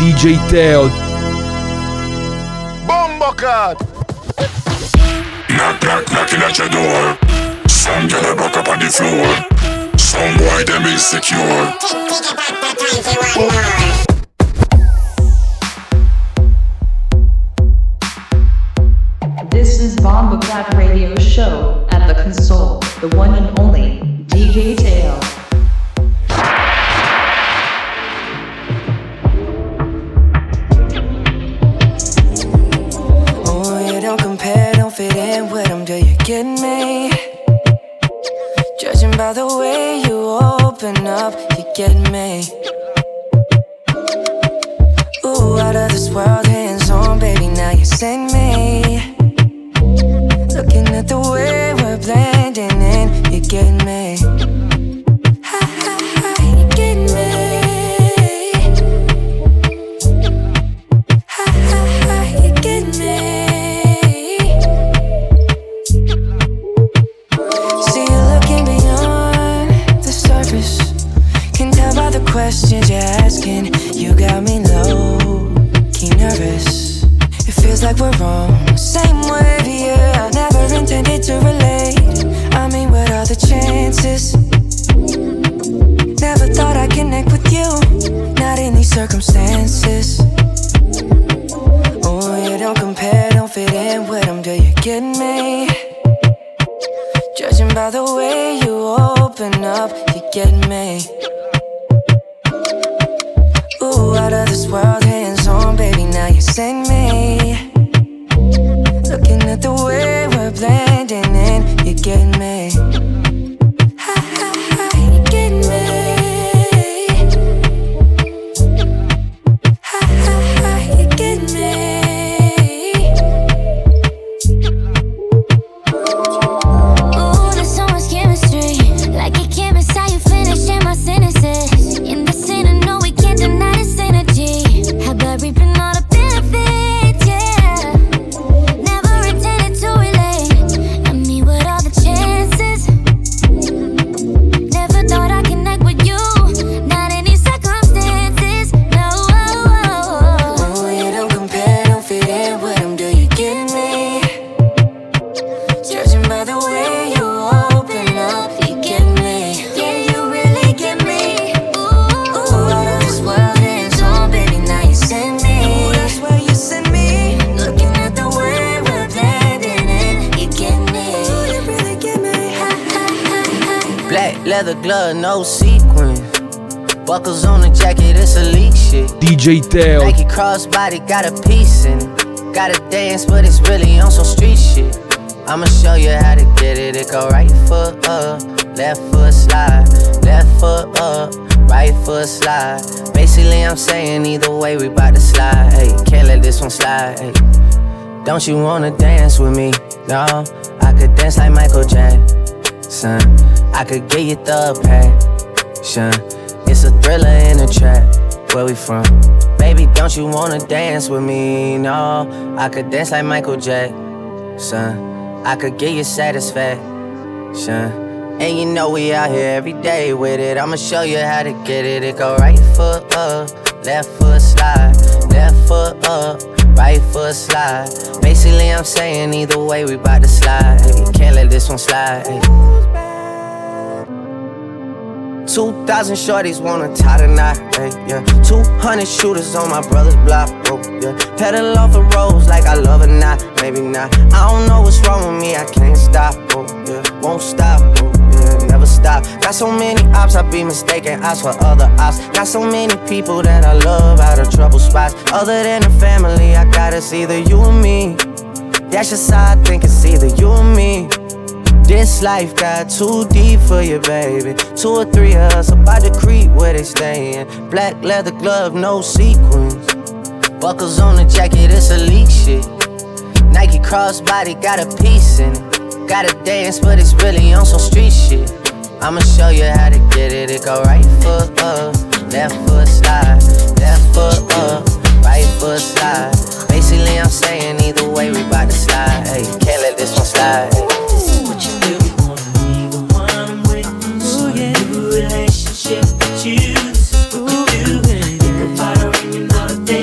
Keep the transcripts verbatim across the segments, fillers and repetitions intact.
D J Teo. Bombo cut. Knock, knock, knocking at your door. Some girl a buck up on the floor. Some boy them insecure. This is Bomba Cat Radio Show at the console, the one and only D J Teo. Oh, you don't compare, don't fit in with them, do you get me? Judging by the way you open up, you get me. Ooh, out of this world, hands on, baby, now you send me. Looking at the way we're blending in, you get me. Ha ha ha, you get me. Ha ha ha, you get me. See you looking beyond the surface. Can tell by the questions you're asking. You got me low, key nervous. It feels like we're wrong, same wave, yeah. Never intended to relate. I mean, what are the chances? Never thought I'd connect with you, not in these circumstances. Oh, you don't compare, don't fit in with them, do you get me? Judging by the way you open up, you get me. Ooh, out of this world, hands on, baby, now you send me. Looking at the way we're blending in, you get me. Ha ha ha, you get me. Ha ha ha, you get me. Ooh, there's so much chemistry. Like a chemist, how you finishing my sentences. In the scene, I know we can't deny this energy. How about reaping all the benefits, yeah. Never intended to relate. I mean, what are the chances? Never thought I'd connect with you, not in these circumstances. No. Oh, you don't compare, don't fit in with them, do you get me? Judging by the way you open up, you get me. Yeah, you really get me. Ooh, out of this world, hands on, baby, now you send me. Ooh, that's where you send me. Looking at the way we're blending in, you get me. Ooh, you really get me. Ha ha ha ha. Black leather glove, no sequin. Buckles on the jacket, it's elite shit. D J Teo. Nike crossbody got a piece in it. Gotta dance, but it's really on some street shit. I'ma show you how to get it. It go right foot up, left foot slide, left foot up, right foot slide. Basically, I'm saying either way, we bout to slide. Hey, can't let this one slide. Hey. Don't you wanna dance with me? No, I could dance like Michael Jackson. I could get you the passion. It's a thriller in a trap. Where we from? Baby, don't you wanna dance with me? No, I could dance like Michael Jackson. I could get you satisfaction. And you know we out here every day with it. I'ma show you how to get it. It go right foot up, left foot slide, left foot up, right foot slide. Basically, I'm saying either way, we bout to slide. Hey, can't let this one slide. Hey. Two thousand shorties wanna tie the knot, hey, yeah. Two hundred shooters on my brother's block, oh, yeah. Pedal off the roads like I love it, not, maybe not. I don't know what's wrong with me, I can't stop, oh, yeah. Won't stop, oh, yeah, never stop. Got so many ops, I be mistaken ops for other ops. Got so many people that I love out of trouble spots. Other than the family, I got it's either you or me. That's just how I think it's either you or me. This life got too deep for you, baby. Two or three of us about to creep where they stayin'. Black leather glove, no sequins. Buckles on the jacket, it's elite shit. Nike crossbody got a piece in it. Gotta dance, but it's really on some street shit. I'ma show you how to get it. It go right foot up, left foot slide, left foot up, right foot slide. Basically, I'm saying either way, we bout to slide. Hey, can't let this one slide. Hey. What you do, wanna be the one I'm with. So a new relationship with you. This is what we do. Think about her and you know that they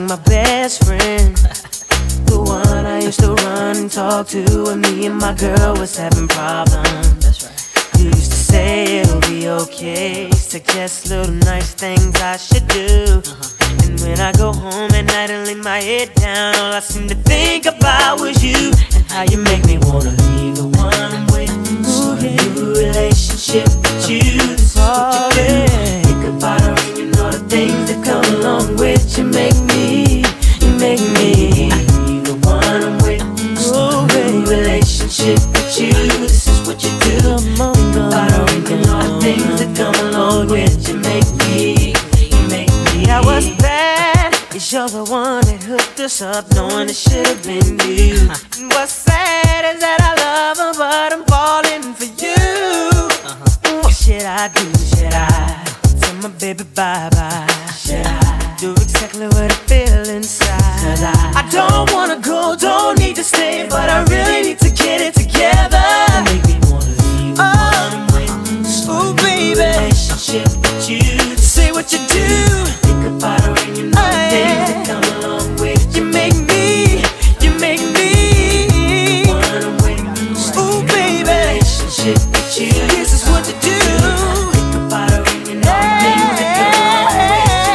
my best friend. The one I used to run and talk to when me and my girl was having problems. That's right. You used to say it'll be okay, suggest little nice things I should do. Uh-huh. And when I go home at night and lay my head down, all I seem to think about was you and how you make me wanna leave the one I'm with. Start a new relationship with you. This is what you do. Think about her and you know the things that come along with you. Make me, you make me leave the one I'm with. Start a new relationship with you. This is what you do. Think about her and you know the things that come along with you. Make me, you make me. I was bad, 'cause you're the one that hooked us up, knowing it should've been you. And what's sad is that I love her, but I'm falling for you. Uh-huh. What should I do? Should I tell my baby bye-bye? Should I do exactly what I feel inside? 'Cause I, I don't wanna go, don't need to stay, but I really need to get it together. You make me wanna leave the oh. one I'm with. Ooh, baby, relationship with you. Say what you do. Think about her and you know the things that come along with. You make me, you make me the one I'm with. Ooh, baby, relationship with you. This is what you do. Think about her and you know the things that come along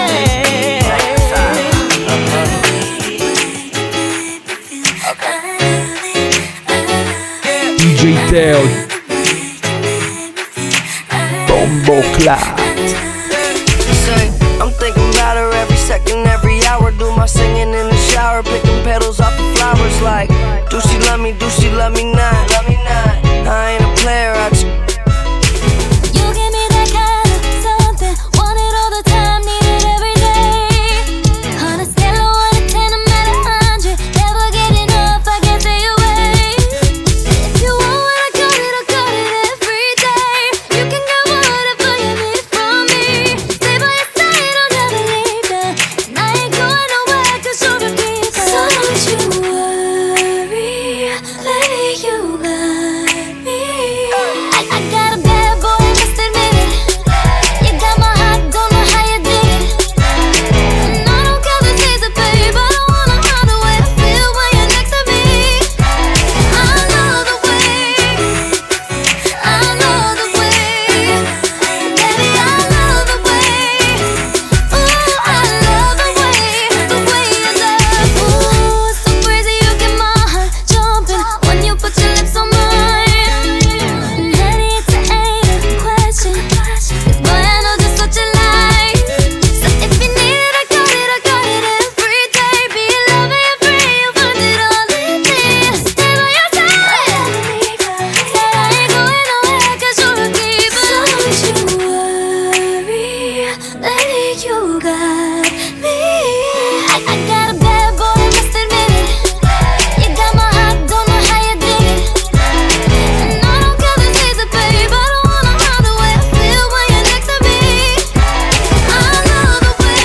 with. You make me. D J Teo, Bombo Clat. I'm thinking about her every second, every hour. Do my singing in the shower, picking petals off the flowers. Like, do she love me? Do she love me not? Love me not. I ain't a player. I just You give me that kind of something, want it all the time, need it every day. On a scale of one to ten, I'm at a hundred, never get enough, I can't stay away. If you want what I got it, I got it every day. You can get whatever you need from me. Stay by your side, I'll never leave you. And I ain't going nowhere 'cause you're a keeper. So don't you worry, lady, you got me. I, I got a bad boy, must admit it. You got my heart, don't know how you did it. And I don't care if it's a babe, I don't wanna hide the way I feel when you're next to me. I love the way, I love the way, baby, I love the way. Ooh, I love the way, the way you love. Ooh, it's so crazy, you get my heart jumping when you put your lips on mine. Daddy, it's an ain't a question, 'cause boy, I know just what you like. So if you need it, I got it, I got it every day. Be your lover, you're free, you find it all in me. Stay by your side. Said I ain't going nowhere 'cause you're a keeper. So don't you worry, lady, you got me. I, I got a bad boy, must admit it. You got my heart, don't know how you did it. And I don't care if it's a babe, I don't wanna hide the way I feel when you're next to me. I love the way,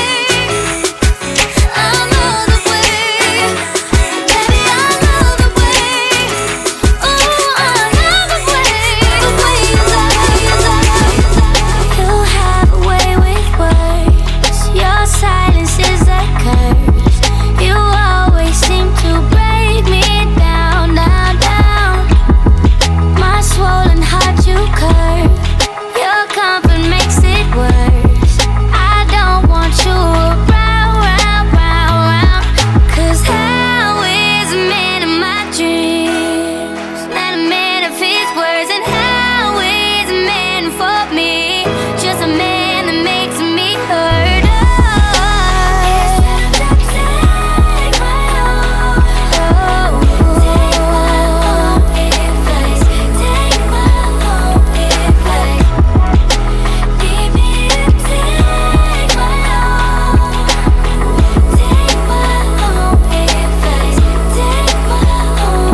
I love the way, baby, I love the way. Ooh, I love the way, the way you love, you love. You have a way with words, your silence is a curse. You always seem to break me down, down, down. My swollen heart you curve, your comfort makes it worse. I don't want you around, round, round, round. 'Cause how is a man in my dreams? Not a man of his words. And how is a man for me? Just a man that makes me hurt. Take my own, oh, take my own advice. Take my own advice. Give me to take my own, take my own advice. Take my own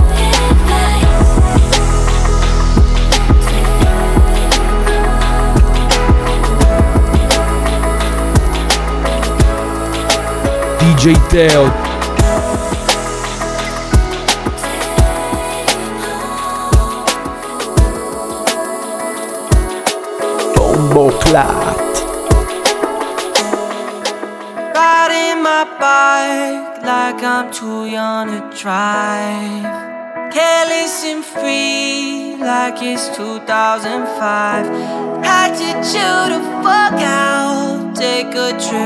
D J Teo, Bombo Clat. right in my bike like I'm too young to drive. Careless and free like it's two thousand five. Had to chill the fuck out, take a trip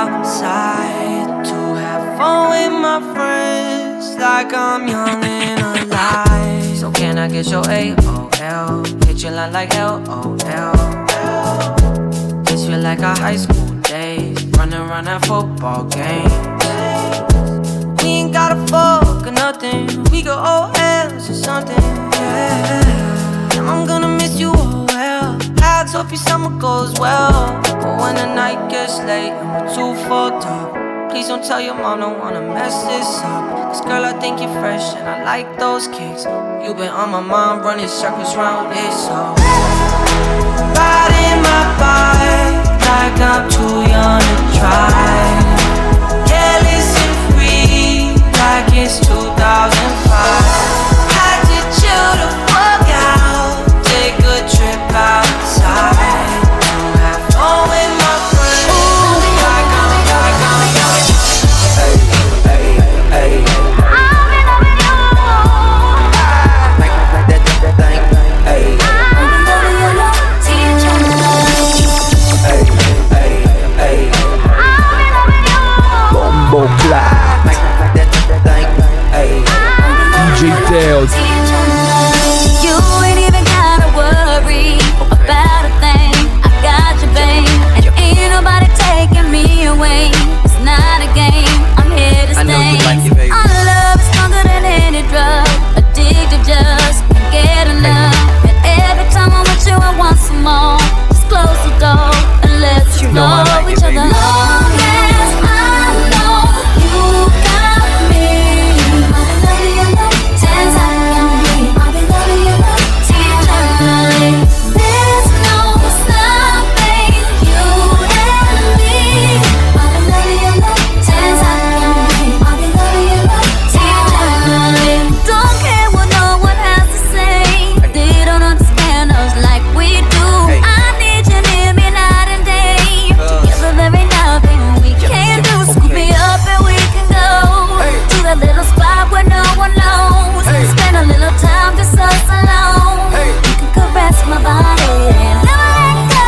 outside to have fun with my friends like I'm young and alive. So can I get your A O L? Hit your line like L O L. This feel like our high school days, running around at football games. We ain't gotta fuck or nothing, we go O Ls or something, yeah. I'm gonna miss you, oh well. I hope your summer goes well. But when the night gets late and we're too fucked up, please don't tell your mom, don't wanna mess this up. Cause girl, I think you're fresh and I like those kicks. You been on my mind, running circles round it, so riding my bike like I'm too young to try. Careless and free like it's two thousand five. Had to chill the fuck out, take a trip outside to have fun with my friends. Like I'm, like I'm, like hey, hey, hey. I'm in love with you. Make me make that, that thing. Hey. I'm in love with your love, teacher. Hey, hey, hey. I'm in love with you. Bombo Clap. Make me make that, that thing. Hey. D J Teo. You ain't even gotta worry about a thing. I got you, babe, and ain't nobody taking me away. It's not a game, I'm here to stay. Our love is stronger than any drug, addictive, just can't get enough. And every time I'm with you, I want some more. Just close the door and let's explore each other. Long as I know you got me, I'll be loving your love, dance I can be. I'll be loving your love, tenderly. There's no stopping you and me. I'll be loving your love, dance I can be. I'll be loving your love, tenderly. Don't care what no one has to say. They don't understand us like we do. I need you near me night and day. Together there ain't nothing we can't do. Scoop me up and we can go to that little spot where no one knows. Spend a little time just us alone. You can caress my body and never let go.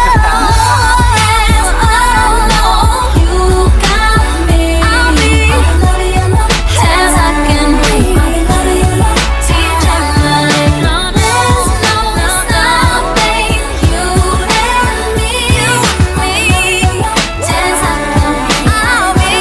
Yes, I know you got me. I'll be loving your love as I can be. I'll be loving your love tenderly. There's no stopping you and me. As I can be. I'll be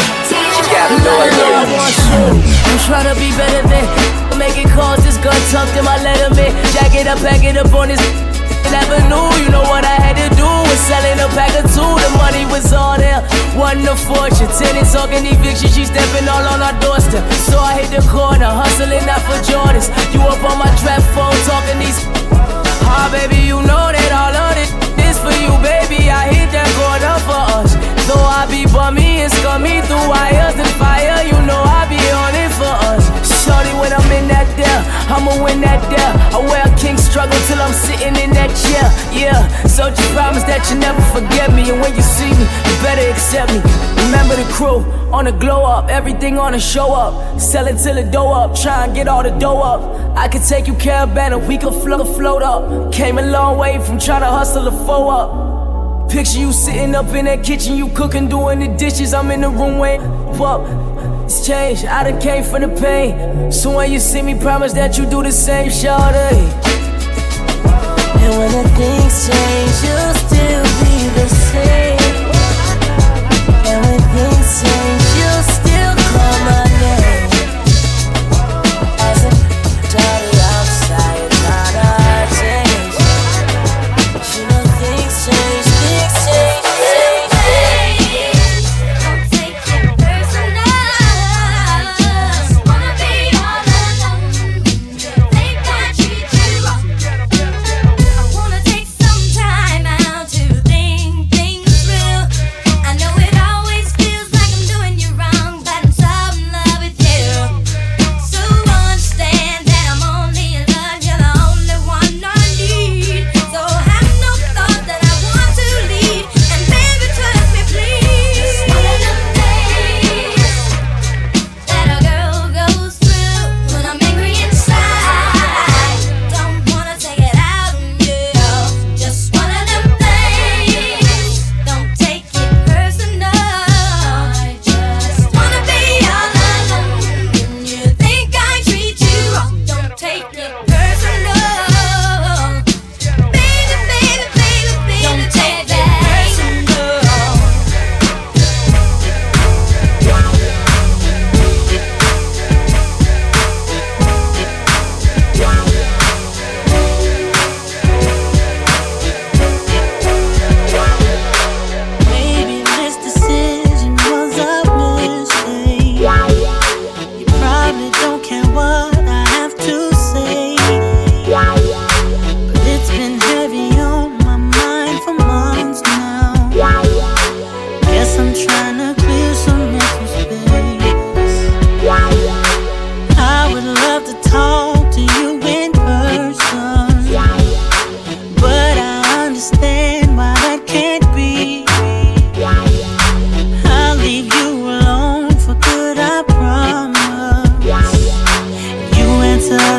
I'm trying to be better than making calls, this gun tucked in my letterman. Jack it up, pack it up on this avenue. You know what I had to do was selling a pack of two. The money was all there, wasn't a fortune. Tenants talking eviction, she stepping all on our doorstep. So I hit the corner, hustling not for Jordans. You up on my trap phone talking these. Ah, baby, you know that all of this is for you, baby. I hit that corner for us. Though I be bummy and scummy through wires and fire, you know I be on it for us. Shorty, when I'm in that there, I'ma win that there. I wear a king struggle till I'm sitting in that chair. Yeah, so just promise that you never forget me. And when you see me, you better accept me. Remember the crew on the glow up, everything on the show up. Sell it till the dough up, try and get all the dough up. I could take you caravan and we could float, float up. Came a long way from trying to hustle the foe up. Picture you sitting up in that kitchen, you cooking, doing the dishes. I'm in the room waiting up. It's changed, I done came from the pain. So when you see me, promise that you do the same, shawty. And when the things change, you'll still be the same. And when things change, you'll still call my name. As a daughter outside, not a change. You know things change, things change, things change. Don't take it personal. Just wanna be all alone. Think I treat you wrong. I wanna take some time out to think things through. I know it always feels like I'm doing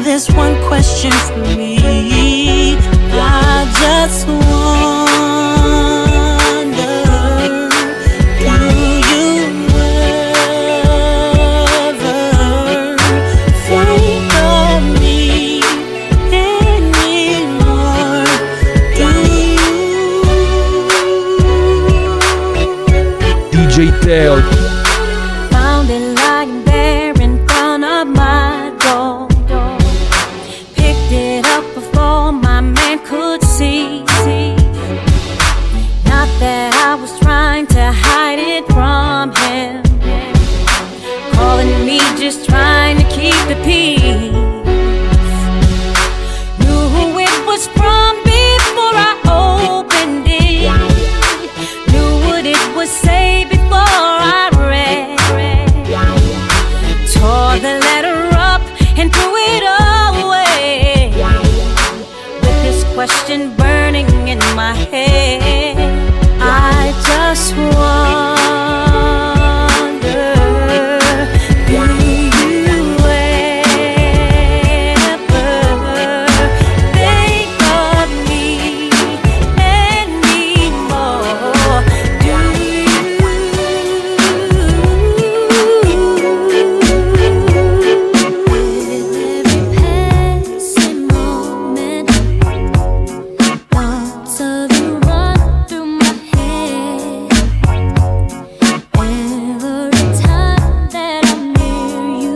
there's one question for me. I just wonder, do you ever think of me anymore? Do you? D J Teo. Found it lying there in front of my door. Picked it up before my man could see. Not that I was trying to hide it from him. Calling me just trying to keep the peace. Knew who it was from before I opened it. Knew what it would say before I read. Tore the letter up and threw it away, with this question burning in my head. I just wonder, do you ever think of me anymore? Do you? With every passing moment, thoughts of you run through my head. Every time that I'm near you,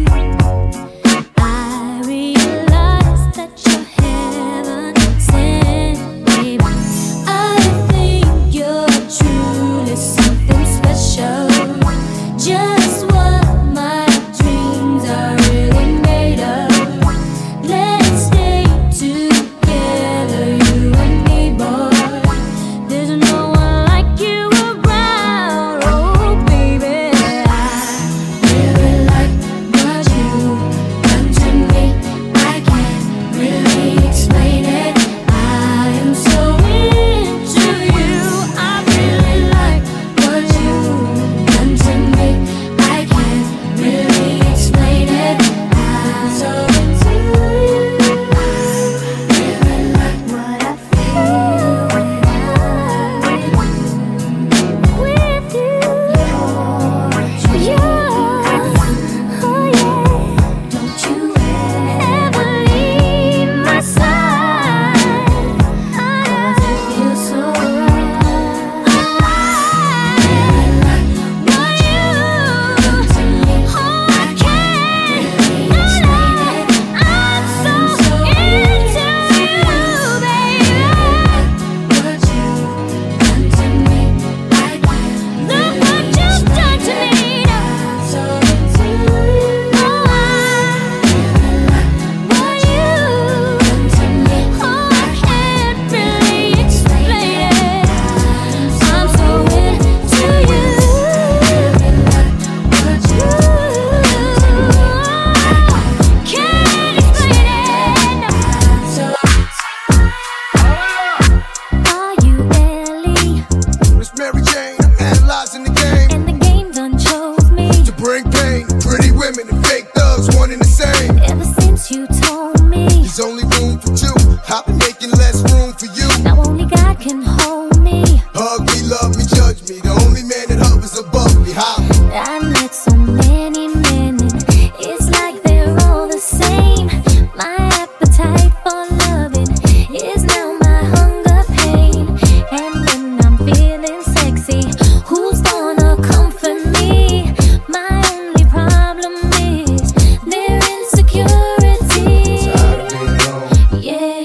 I realize that you're heaven sent, babe. I think you're truly something special. Just what my dreams are really made of. Let's stay together, you and me, boy. There's no one like you around, oh baby. I really like what you've done to me. I can't really explain it. I am so into you. I really like what you've done to me. I can't really explain it. I'm so into you. I really like what I feel when I'm with you. You're, oh yeah. Don't you ever leave my side. Cause it feels so right. I really like what you done to me. Oh, I can't explain it. I'm so into you, baby. What you done to me, I can't. Look what you've done to me. So into you. Oh, I really like what you done to me. Oh, I can't really explain it. I'm so into you. Really like what you can't explain it. So are you Ellie? Miss Mary Jane, I'm analyzing the game And the game done chose me. to bring pain. Pretty women and fake thugs, one and the same. Ever since you told me, There's only room for two. I've been making less room for you. now only God can hold me. Hug me, love me, judge me. The only man that hovers above me. How? I met so many men, and it's like they're all the same. My appetite for loving is now my hunger pain. And when I'm feeling sexy, who's gonna comfort me? My only problem is their insecurity. Tired of being alone. Yeah.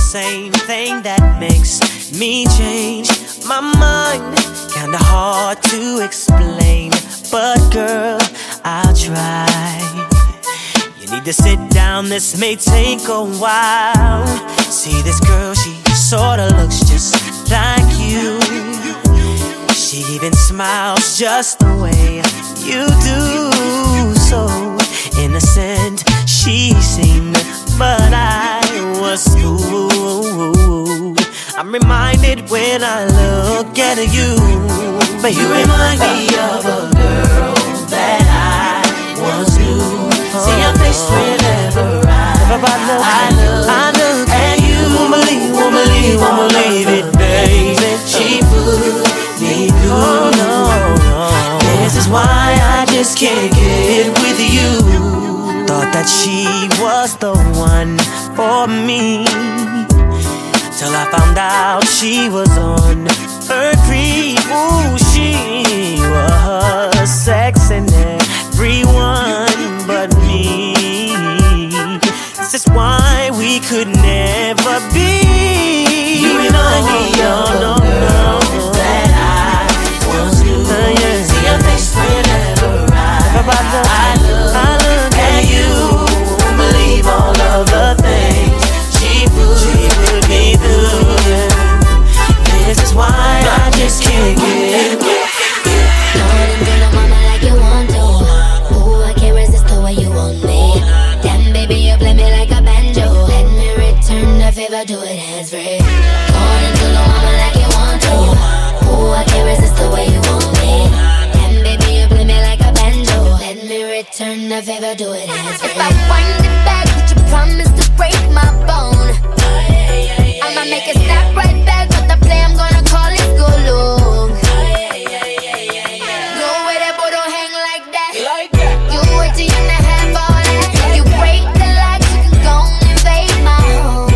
same thing that makes me change my mind. Kinda hard to explain, but girl, I'll try. You need to sit down, this may take a while. See this girl, she sorta looks just like you. She even smiles just the way you do. So innocent she seemed, but I was fooled. I'm reminded when I look at you, but you remind me of a girl that I once knew. See your face whenever I, I look, I look at you. Won't believe, won't believe, won't believe it, baby. She put me through. Oh, no, no. This is why I just can't get with you. Thought that she was the one for me, till I found out she was on her creep. Ooh, she was sexing everyone but me. This is why we could never be. You remind me of no, no, no, that I once knew. Uh, yeah. See your face whenever I, I look, I look at you. Won't believe all of the things she put, she put me through. Yeah. This is why I just can't get. Go ahead and do the mama like you want to. Ooh, I can't resist the way you want me. Damn, baby, you play me like a banjo. Let me return the favor, do it hands free. Go on and do the mama like you want to. Ooh, I can't resist the way you want me. Damn, baby, you play me like a banjo. Let me return the favor, do it hands free. If I wind it back, would you promise to break my bone? I'ma make it snap right back, but the play I'm gonna call it go long. No way that boy don't hang like that. You wait till you're not have all that. You break the locks, you can go and invade my home.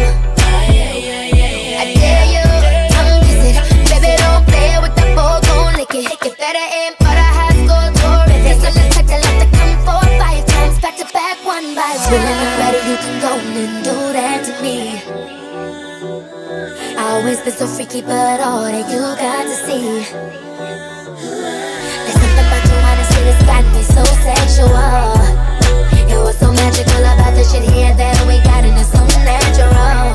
I dare you, tongue kiss it. Baby, don't play with the ball, gon' lick it. You better aim for the high score, terrific. So let's take a lot to come four or five times, back to back, one by one. When you're ready, you can go and do that to me. I always been so freaky, but all that you got to see. There's something about you, honestly, that's got me so sexual. It was so magical about the shit here that we got, and it's so natural.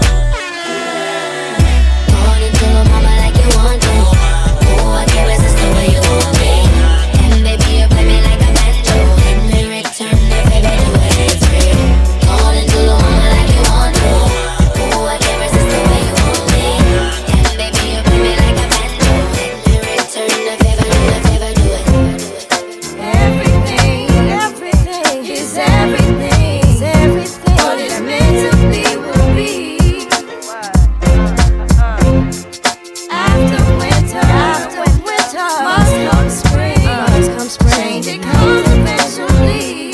Go on and do the mama like you want to. Ooh, I can't resist the way you want me. And baby, you play me like a banjo. Let me return the favor, do it hands free. Go on and do the mama like you want to. Ooh, I can't resist the way you want me. And baby, you play me like a banjo. Let me return the favor, do the favor, do it. Everything, everything is everything, is everything. What it's meant to be will be. After winter, after winter, must come spring, must come spring. Change it comes eventually.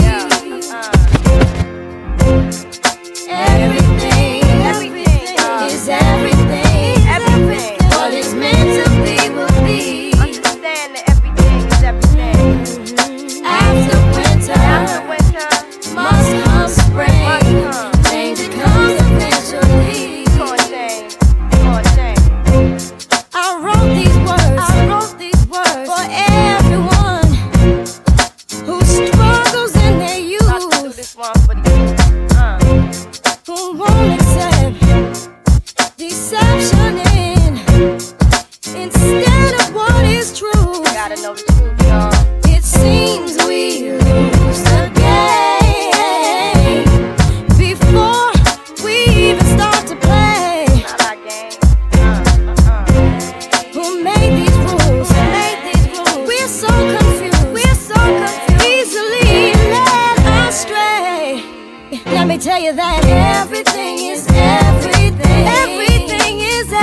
Everything, everything is everything, everything. What it's meant to be will be. Understand that everything is everything. After winter, after winter, must come spring. Change it comes eventually. Come on, change. Come on, change. I wrote these words. I wrote these words for everyone who struggles in their youth. I do this one for the youth. Uh. Who won't accept deception in instead of what is true. Gotta know the truth, y'all. It seems we lose the game before we even start to play. Not our game. Uh, uh, uh. Who made these rules? Who made these rules? We're so confused. We're so confused. Easily led astray. Let me tell you that everything is everything. Everything is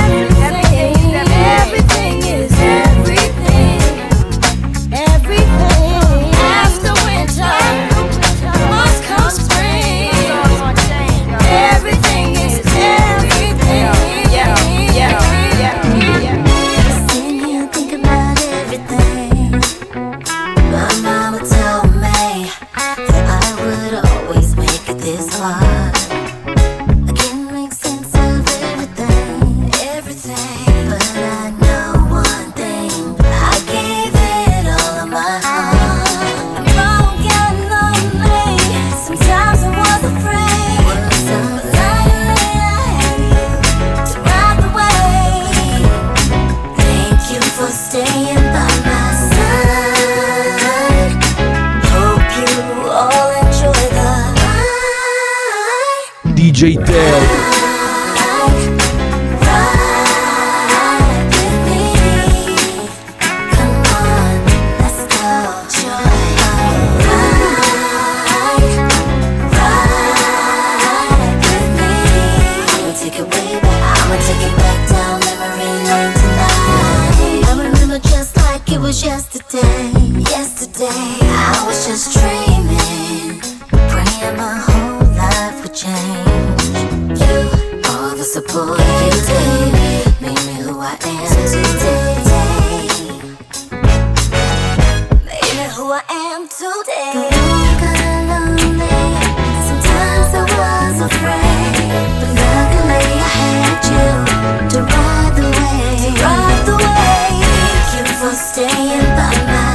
D J Teo. Yesterday, yesterday, I was just dreaming, praying my whole life would change. You, all the support you gave, made me who I am today. Made me who I am today. The road got lonely, sometimes I was afraid, but luckily I had you to ride the wave, to ride the wave. Thank you for staying by my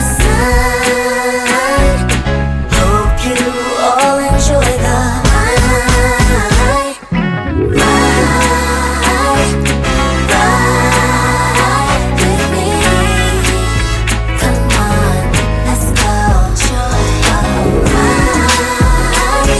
side. Hope you all enjoy the ride, ride, ride with me. Come on, let's go. Enjoy the ride,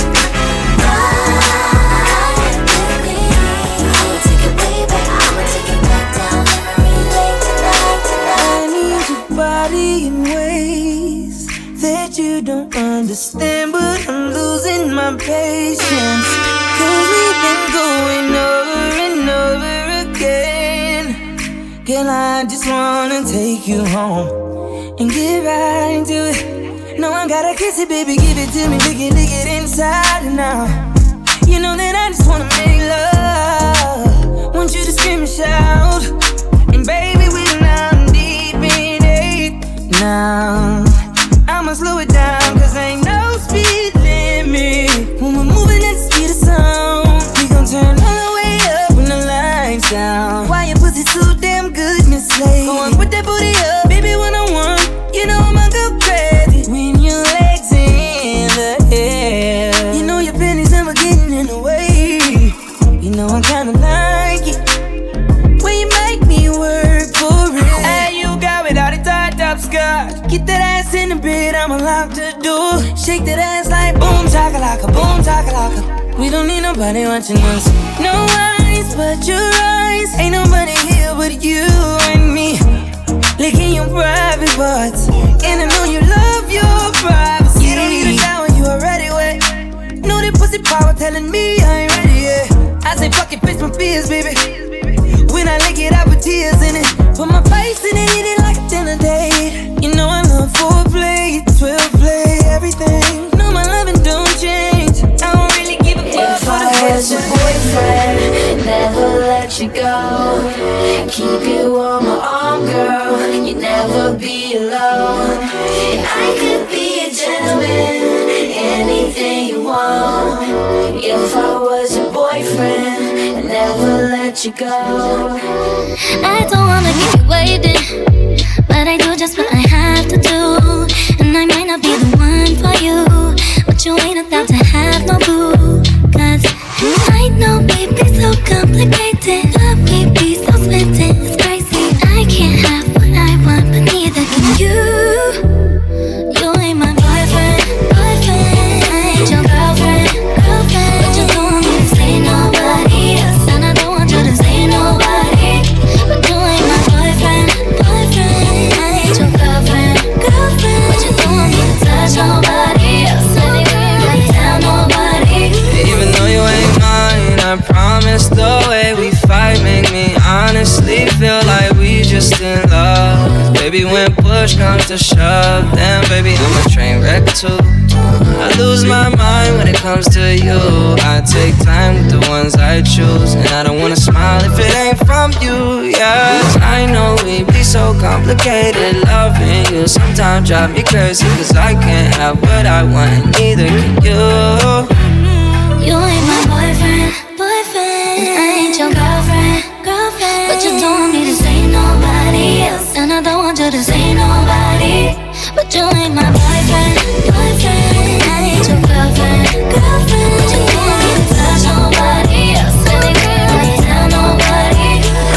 ride with me. I'ma take it way back, I'ma take it back down memory lane tonight, tonight. I need your body in ways that you don't understand, but I'm losing my patience. Cause we've been going over and over again. Girl, I just wanna take you home and get right into it. No, I gotta kiss it, baby, give it to me, lick it, lick it inside and out. You know that I just wanna make love, want you to scream and shout. And baby, we're now deep in it. Now I'ma slow it down, cause ain't no speed limit. When we're moving at the speed of sound, we gon' turn all the way up when the lights down. Why your pussy so damn good, Miss Slade? Go on, put that booty up, baby, one on one. You know I'ma go crazy when your legs in the air. You know your panties never getting in the way. You know I kinda like it when you make me work for it. Hey, you got without a tied up skirt. Get that ass in the bed, I'ma lock the door. Shake that ass like boom chakalaka, boom chakalaka. We don't need nobody watching us. No eyes but your eyes. Ain't nobody here but you and me. Licking your private parts, and I know you love your privacy. You don't need a shower, you already wet. Know that pussy power telling me I ain't ready yet. I say fuck it, fix my fears, baby. When I lick it, I put tears in it. Put my face in it, eat it like a dinner date. You know I love foreplay, twelve play, everything. No, my loving don't change. I don't really give a fuck for the was your boyfriend, never let you go. Keep you on my arm, girl. You never be alone. I could be a gentleman, anything you want. If I was your boyfriend, never let you go. I don't wanna keep you waiting, but I do just what I have to do. And I might not be the one for you, but you ain't about to have no boo. Cause I know we be so complicated, but we be so splitting, it's crazy. I can't have what I want, but neither can you. You ain't my boyfriend, boyfriend. I ain't your girlfriend, girlfriend. But you don't want me to say nobody else, and I don't want you to say nobody. But you ain't my boyfriend, boyfriend. I ain't your girlfriend, girlfriend. But you don't want me to touch nobody else, anywhere, tell nobody. Even though you ain't mine, I promise the way we fight make me honestly feel like we just in love. Cause baby, when push comes to shove, then baby, I'm a train wreck too. I lose my mind when it comes to you. I take time with the ones I choose, and I don't wanna smile if it ain't from you, yeah. Cause I know we be so complicated. Loving you sometimes drive me crazy, cause I can't have what I want, and neither can you. You ain't my boyfriend, boyfriend. And I ain't your girlfriend, girlfriend. But you don't want me to say nobody else, and I don't want you to say nobody. But you ain't my boyfriend, boyfriend. I ain't your girlfriend, girlfriend. But you don't want me to touch nobody else, anywhere, tell nobody.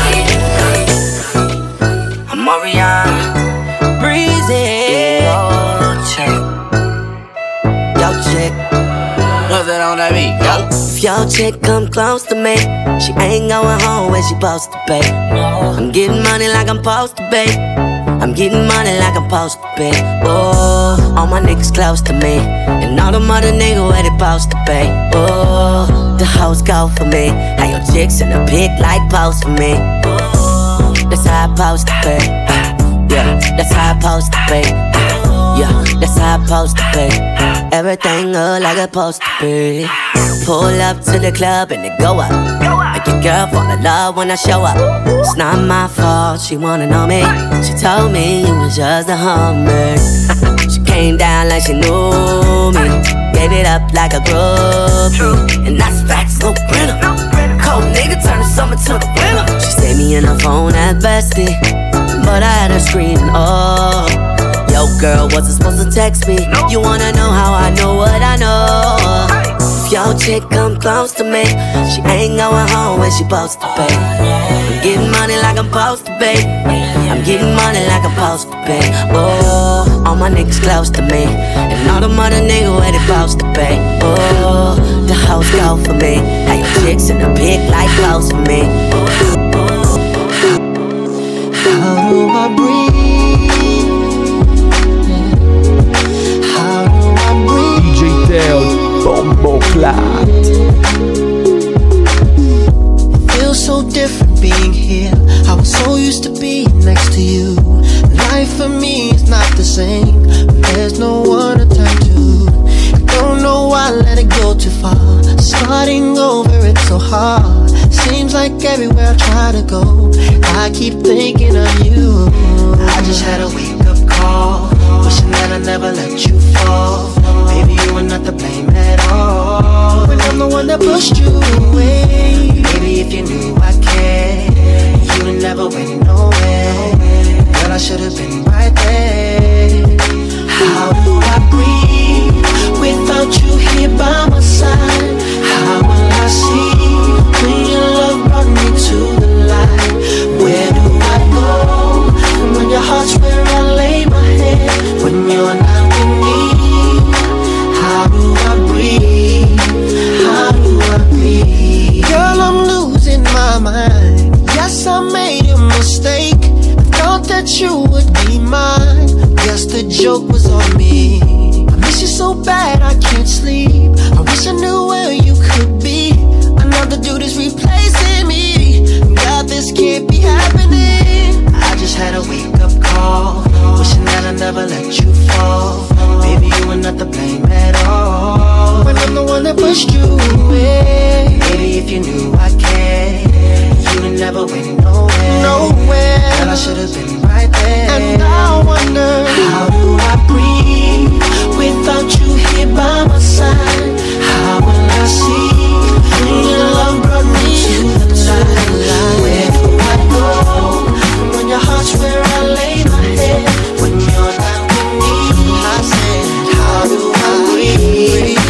I'm Mariana, breezy. Yo, chick. Yo, chick. What's that on that beat? Yo. If your chick come close to me, she ain't going home where she supposed to be. I'm getting money like I'm supposed to be. I'm getting money like I'm supposed to be. Oh, all my niggas close to me, and all them other niggas where they supposed to be. Oh, the hoes go for me. How your chicks in the pic like pose for me. Oh, that's how I supposed to be. Yeah, that's how I supposed to be. Yeah, that's how I supposed to be. Everything look like it's supposed to be. Pull up to the club and it go up. Make your girl fall in love when I show up. It's not my fault, she wanna know me. She told me you was just a hummer. She came down like she knew me. Gave it up like a groupie. And that's facts, no printer. Cold nigga turn the summer to the winter. She saved me in her phone at bestie, but I had her screaming, oh. Yo girl, wasn't supposed to text me. You wanna know how I know what I know. If your chick come close to me, she ain't going home where she supposed to be. I'm getting money like I'm supposed to be. I'm getting money like I'm supposed to be. Oh, all my niggas close to me, and all them other niggas where they supposed to be. Oh, the hoes go for me. How your chicks in the pic like close for me. How do I breathe? D J Teod, Bombo Clat. Feels so different being here. I was so used to being next to you. Life for me is not the same. There's no one to turn to. I don't know why I let it go too far. Starting over, it's so hard. Seems like everywhere I try to go, I keep thinking of you. I just had a wake up call, wishing that I never let you fall. Baby, you were not to blame at all, when I'm the one that pushed you away. Baby, if you knew I cared, you'd never went nowhere. Girl, I should've been right there. How do I breathe without you here by my side? How will I see when your love brought me to the light? Where do I go when your heart's where I lay my head? When you're not with me, how do I breathe? How do I breathe? Girl, I'm losing my mind. Yes, I made a mistake. I thought that you would be mine. Guess the joke was on me. I miss you so bad I can't sleep. I wish I knew where you could be. Another dude is replacing me. God, this can't be happening. I just had a wake up call, wishing that I never let you fall. Baby, you were not to blame at all, when I'm the one that pushed you away. Baby, if you knew I cared, you'd never went nowhere. Nowhere. Girl, I should've been right there. And I wonder, how do I breathe without you here by my side? How will I see when your love brought me to the light? Where do I go when your heart's where I lay my head? When you're not with me, I said, how do I breathe?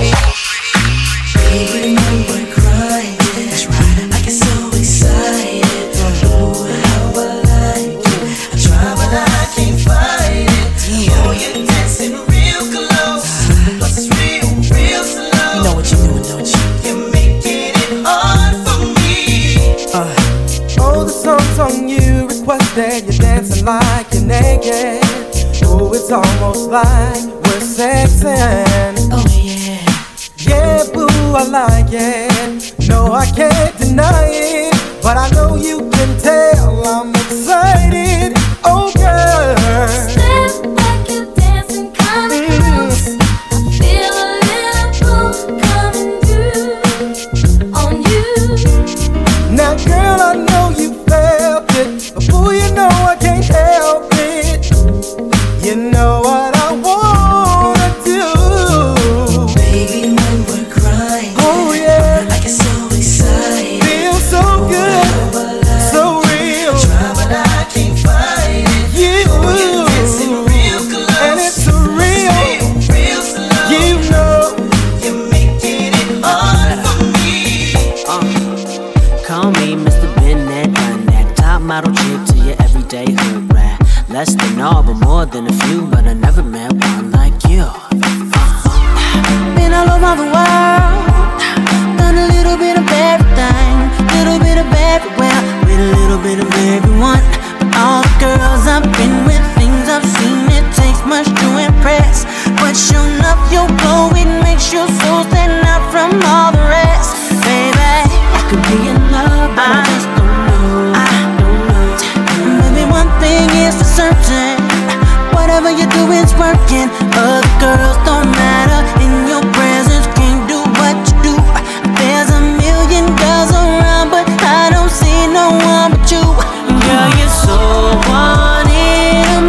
Baby, when we're crying, that's right, I get so excited. Ooh, how I like it. I try but I can't fight it. Oh, you're dancing real close, plus it's real, real slow. You know what you're doing, don't you? You're making it hard for me. Uh, oh, the song's on you, requested. You're dancing like you're naked. Oh, it's almost like we're sexing. Oh yeah. Yeah, boo, I like it. No, I can't deny it, but I know you can tell I'm excited. Oh, girl. Step back, you're dancing kinda close. I feel a little pull coming through on you. Now, girl, I know you felt it, but boo, you know I can't help it. You know what I wanna do. Baby, when we're crying, oh yeah, I get so excited. Feel so good, so real. I try but I can't fight it. You, oh, you're dancing real close, and it's a real, real, real slow. You know, you're making it hard for me. Uh, call me Mister Bennett, done that. Top model chick to your everyday hood rat. Less than all, but more than a few. But I never met one like you. Uh, been all over the world, done want a little bit of everything, little bit of everywhere, with a little bit of everyone. But all the girls I've been with, things I've seen, it takes much to impress. But sure enough, your glow, it makes your soul stand out from all the rest. Baby, I could be in love, but I, I just don't know. I don't know. Maybe one thing is for certain, whatever you do is working. Other girls don't matter, in your presence can't do what you do. There's a million girls around, but I don't see no one but you. Girl, you're so one in a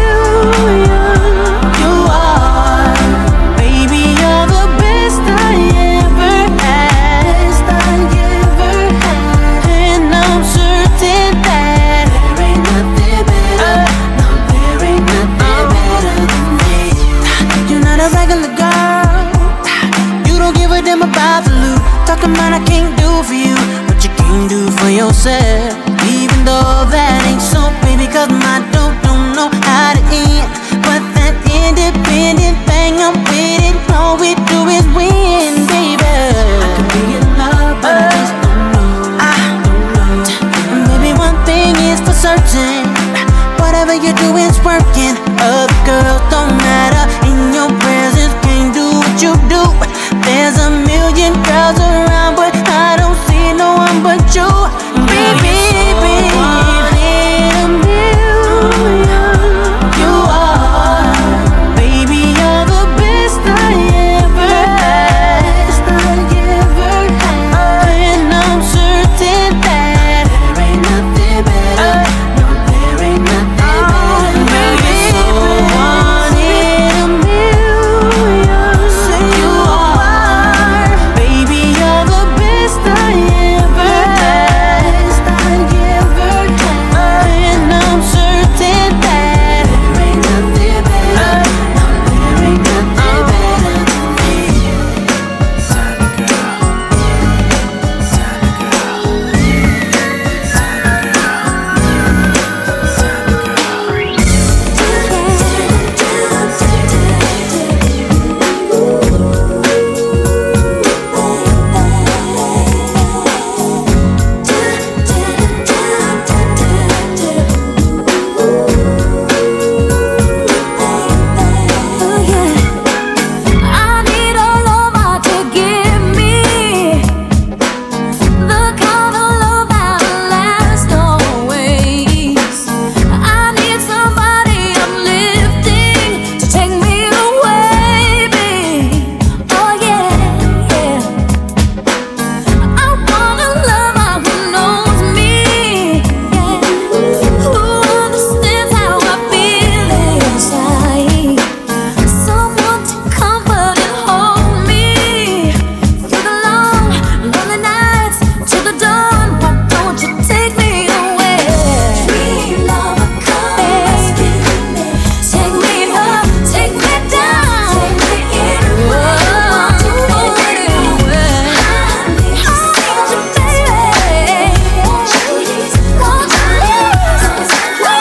million. You are, baby, you're the best I ever had. Best I ever had. And I'm certain that there ain't nothing better. No, there ain't nothing better than me. You're not a regular girl. You don't give a damn about the loot. Talking about I can't do for you what you can do for yourself. Even though that ain't so, baby, cause my dope don't know how to end. But that independent thing, I'm with it. All we do is win, baby. I could be in love, but I just don't know. I don't know. And baby, one thing is for certain, whatever you do is working. Other girls don't matter, in your presence can't do what you do. There's a million girls around, but I don't see no one but you. Baby, baby, one in a million. You are, baby, you're the best I ever had. Best I ever had. And I'm certain that there ain't nothing better. No, there ain't nothing better. Baby, so one in a million. You are, baby, you're the best I ever had. Best I ever had. And I'm certain that there ain't nothing better. No, there ain't nothing better than me. Tiny girl, I need a lover to give me the kind of love that'll last always. I need somebody uplifting to take me away, babe. Oh yeah, yeah. I want a lover who knows me, yeah. Who understands how I feel inside. Someone to comfort and hold me through the long, lonely nights till the dawn. Why don't you take me away? Dream lover, come rescue me. Take me up, take me down, take me anywhere you want to be. I need to see you, baby. Won't you please, won't you please?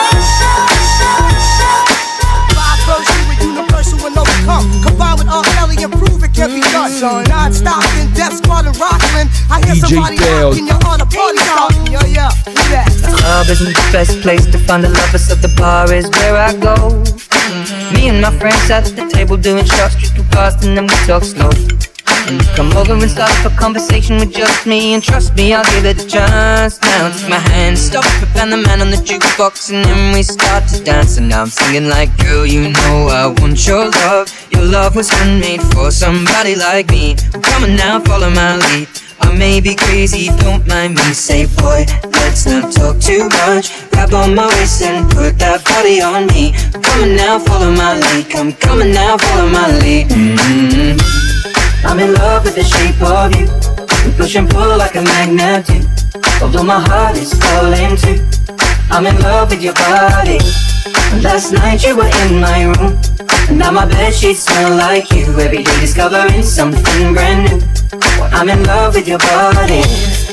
Five first, you were universal and overcome. Combined with R. Kelly and prove it can be done. Non-stop in Death Squad and Rocklin'. I hear D J somebody Dale. rockin', you're on a party starting. Yo, yeah, do that. Club isn't the best place to find the lovers, so the bar is where I go. Me and my friends sat at the table doing shots, just too fast, and then we talk slow. And you come over and start up a conversation with just me, and trust me, I'll give it a chance. Now take my hand, stop it, and the man on the jukebox, and then we start to dance. And now I'm singing like, girl, you know I want your love. Your love was handmade for somebody like me. Come on now, follow my lead. I may be crazy, don't mind me. Say, boy, let's not talk too much. Grab on my waist and put that body on me. Come on now, follow my lead. Come, come on now, follow my lead. Mm-hmm. I'm in love with the shape of you. We push and pull like a magnet do. Although my heart is falling too. I'm in love with your body. Last night you were in my room, and now my bedsheets smell like you. Every day discovering something brand new. I'm in love with your body.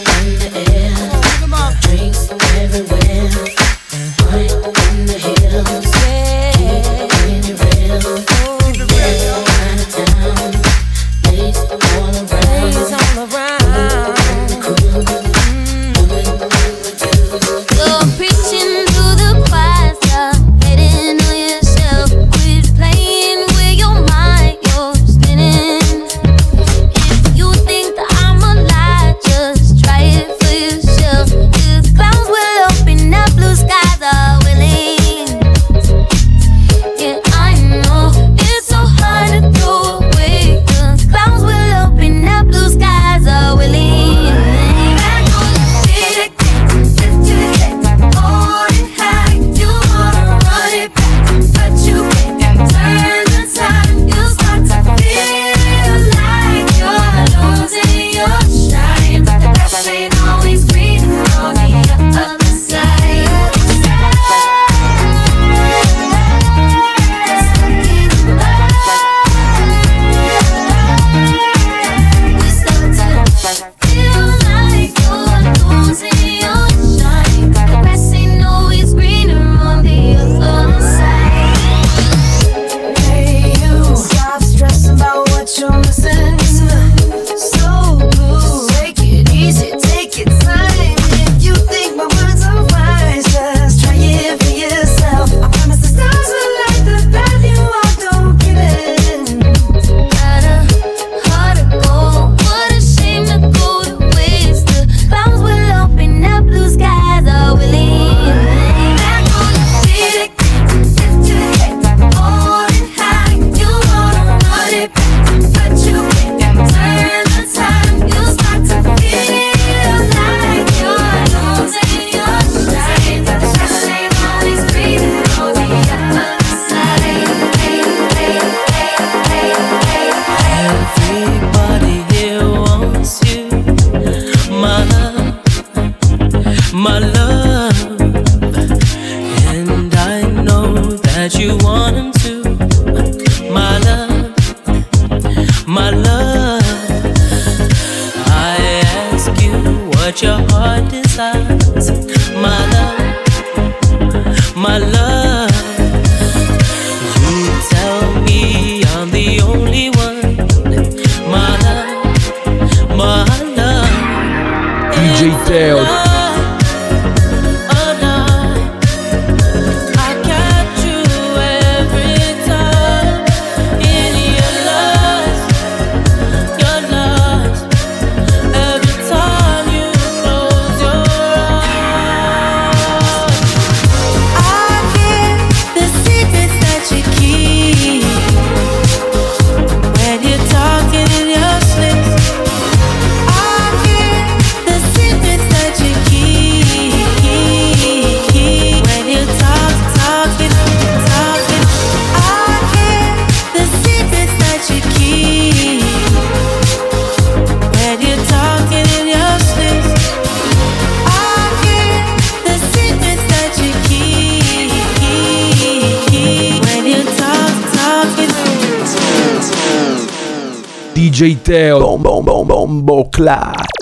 Drinks everywhere, right in the hills. Keep it real, out of town, ladies all around. my love, and I know that you want him to. My love, my love, I ask you what your heart desires. My love, my love, you tell me I'm the only one. My love, my love, D J Teo. D J Teo, bom bom bom bombo clap.